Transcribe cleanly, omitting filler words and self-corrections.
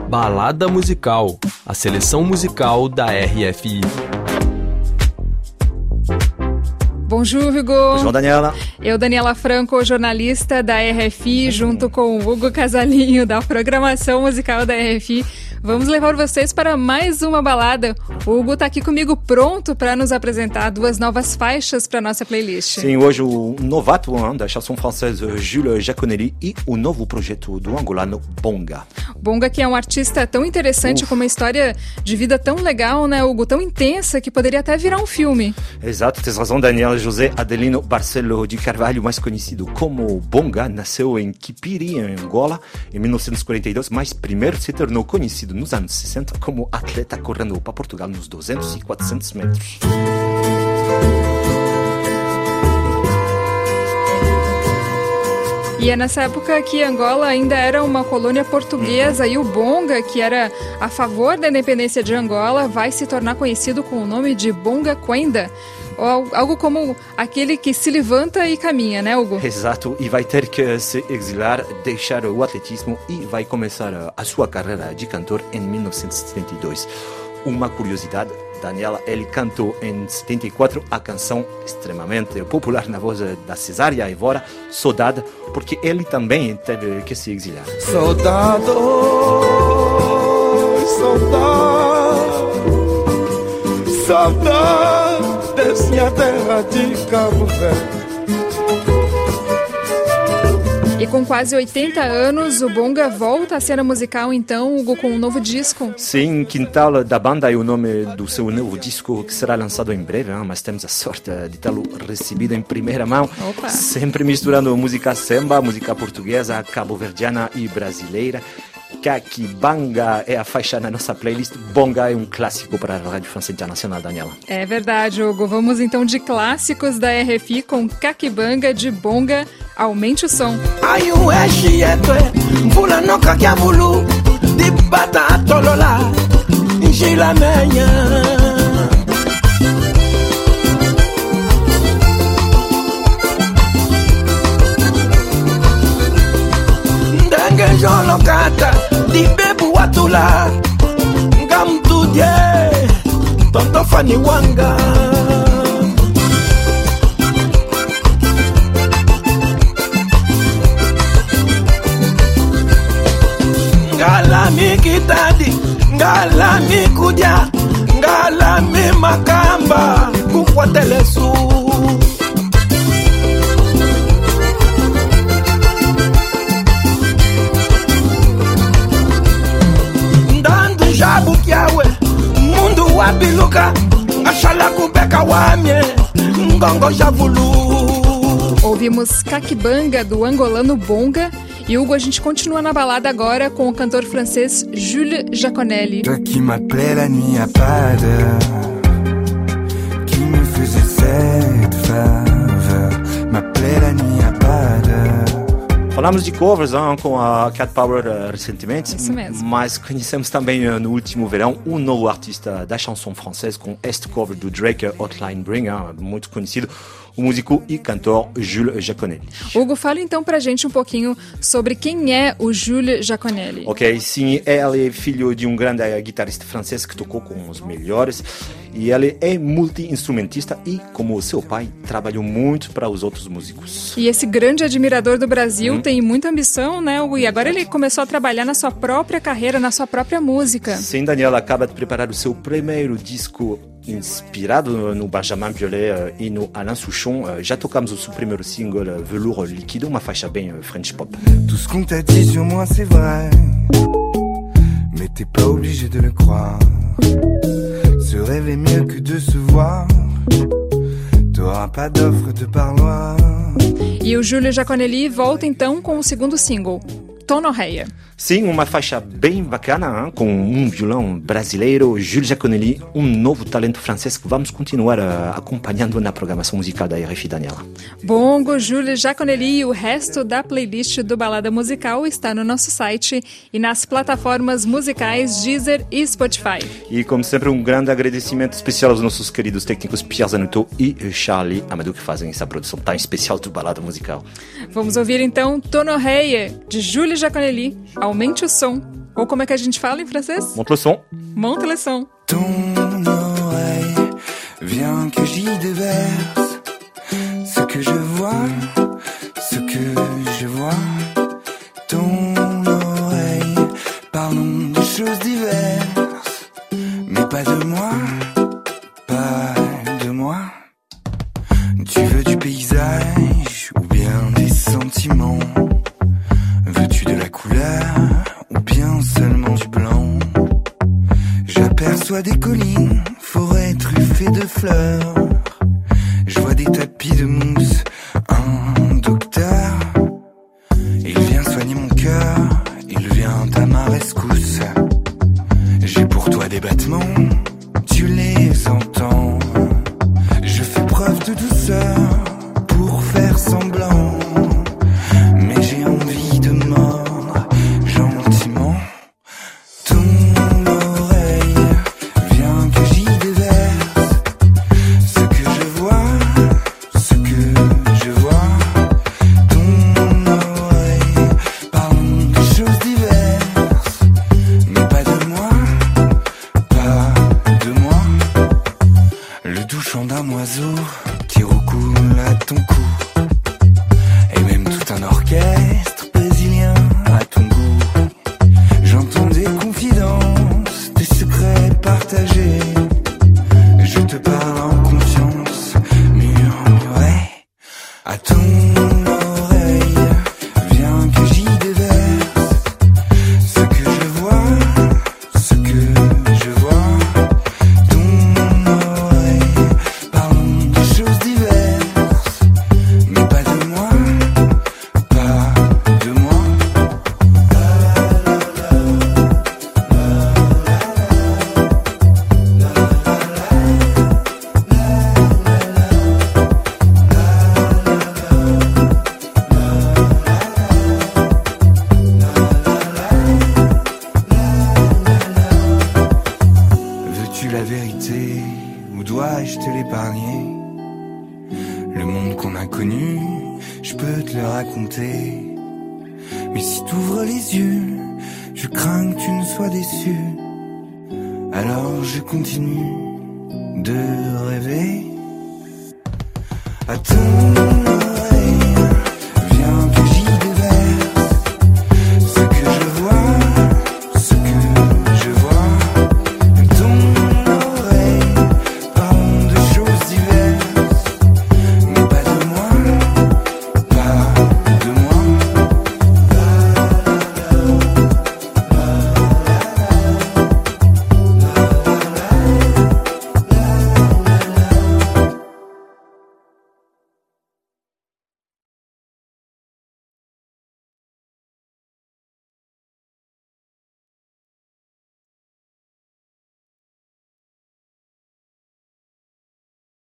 Balada Musical, a seleção musical da RFI. Bonjour, Hugo. Bonjour, Daniela. Eu, Daniela Franco, jornalista da RFI, junto com o Hugo Casalinho, da programação musical da RFI. Vamos levar vocês para mais uma balada. O Hugo está aqui comigo pronto para nos apresentar duas novas faixas para nossa playlist. Sim, hoje o novato da chanson française Jules Jaconelli e o novo projeto do angolano Bonga. Bonga, que é um artista tão interessante, com uma história de vida tão legal, né, Hugo? Tão intensa que poderia até virar um filme. Exato, tens razão, Daniel. José Adelino Barcelo de Carvalho, mais conhecido como Bonga, nasceu em Kipiri, em Angola, em 1942, mas primeiro se tornou conhecido nos anos 60 como atleta correndo para Portugal nos 200 e 400 metros. E é nessa época que Angola ainda era uma colônia portuguesa e o Bonga, que era a favor da independência de Angola, vai se tornar conhecido com o nome de Bonga Kwenda. Algo como aquele que se levanta e caminha, né, Hugo? Exato, e vai ter que se exilar, deixar o atletismo e vai começar a sua carreira de cantor em 1972. Uma curiosidade, Daniela, ele cantou em 74 a canção extremamente popular na voz da Cesária Évora, Saudade, porque ele também teve que se exilar. Saudade, saudade, saudade minha terra de Cabo Verde. E com quase 80 anos, o Bonga volta à cena musical, então, Hugo, com um novo disco. Sim, Quintal da Banda é o nome do seu novo disco, que será lançado em breve, mas temos a sorte de tê-lo recebido em primeira mão. Opa. Sempre misturando música samba, música portuguesa, cabo-verdiana e brasileira. Kakibanga é a faixa na nossa playlist. Bonga é um clássico para a Rádio França Internacional, Daniela. É verdade, Hugo. Vamos então de clássicos da RFI com Kakibanga de Bonga. Aumente o som. Ai, o vula no kakiabulu, de bata tolola, gila menha. Ndange jolokata, di bebu watula, ngam tudye, tonto fani wanga. Ngala mi kitadi, ngala mi kuja, ngala mi makamba, kukwatelesu. Ndandu jabu kiawe, mundu wabiluka, ngashala kubeka wamye, ngongo javulu. Ouvimos Kakibanga do angolano Bonga. E Hugo, a gente continua na balada agora com o cantor francês Jules Jaconelli. Toi qui m'appelais la nuit à pas d'heure, qui me faisait cette faveur, m'appelait la nuit à pas d'heure. Falamos de covers com a Cat Power recentemente, Isso mesmo. Mas conhecemos também no último verão um novo artista da chanson française com este cover do Drake, Hotline Bling, muito conhecido, o músico e cantor Jules Jaconelli. Hugo, fala então pra gente um pouquinho sobre quem é o Jules Jaconelli. Ok, sim, ele é filho de um grande guitarrista francês que tocou com os melhores e ele é multi-instrumentista e, como seu pai, trabalhou muito para os outros músicos. E esse grande admirador do Brasil tem muita ambição, né, Hugo? E agora ele começou a trabalhar na sua própria carreira, na sua própria música. Sim, Daniela acaba de preparar o seu primeiro disco inspirado no Benjamin Biolay e no Alain Souchon. Já tocamos o seu primeiro single, Velours Líquido, uma faixa bem French pop. Tout ce qu'on t'a dit sur moi c'est vrai, mais t'es pas obligé de le croire. Se rêver mieux que de se voir, t'auras pas d'offre de parloir. E o Jules Jaconelli volta então com o segundo single, Tonorreia. Sim, uma faixa bem bacana, com um violão brasileiro, Jules Jaconelli, um novo talento francês que vamos continuar acompanhando na programação musical da RFI, Daniela. Bongo, Jules Jaconelli e o resto da playlist do Balada Musical está no nosso site e nas plataformas musicais Deezer e Spotify. E, como sempre, um grande agradecimento especial aos nossos queridos técnicos Pierre Zanuto e Charlie Amadou, que fazem essa produção tão especial do Balada Musical. Vamos ouvir então Tonorreia, de Jules Jaconelli. Aumente o som. Ou como é que a gente fala em francês? Monte le son. Monte le son. Ton oreille, viens que j'y déverse ce que je vois, ce que je vois. Ton oreille, parlons de choses diverses, mais pas de moi, pas de moi. Tu veux du paysage ou bien des sentiments? Veux-tu de la couleur ou bien seulement du blanc? J'aperçois des collines, forêts truffées de fleurs. Je vois des tapis de mousse, un docteur. Il vient soigner mon cœur, il vient à ma rescousse. J'ai pour toi des battements, tu les entends. Je fais preuve de douceur pour faire semblant, mais j'ai envie de mordre gentiment. Ton oreille, viens que j'y déverse ce que je vois, ce que je vois. Ton oreille, parlons de choses diverses, mais pas de moi, pas de moi. Le doux chant d'un oiseau qui recoule à ton cou, et même tout un orchestre brésilien à ton goût. J'entends des confidences, des secrets partagés. Je te parle en confiance, murmuré à ton oreille. Viens que j'y déverse ce que je vois, ce que je vois. Ton oreille, parlons de choses diverses, mais pas de moi, pas de moi. Veux-tu la vérité ou dois-je te l'épargner? Le monde qu'on a connu, je peux te le raconter. Mais si t'ouvres les yeux, je crains que tu ne sois déçu. Alors je continue de rêver à ton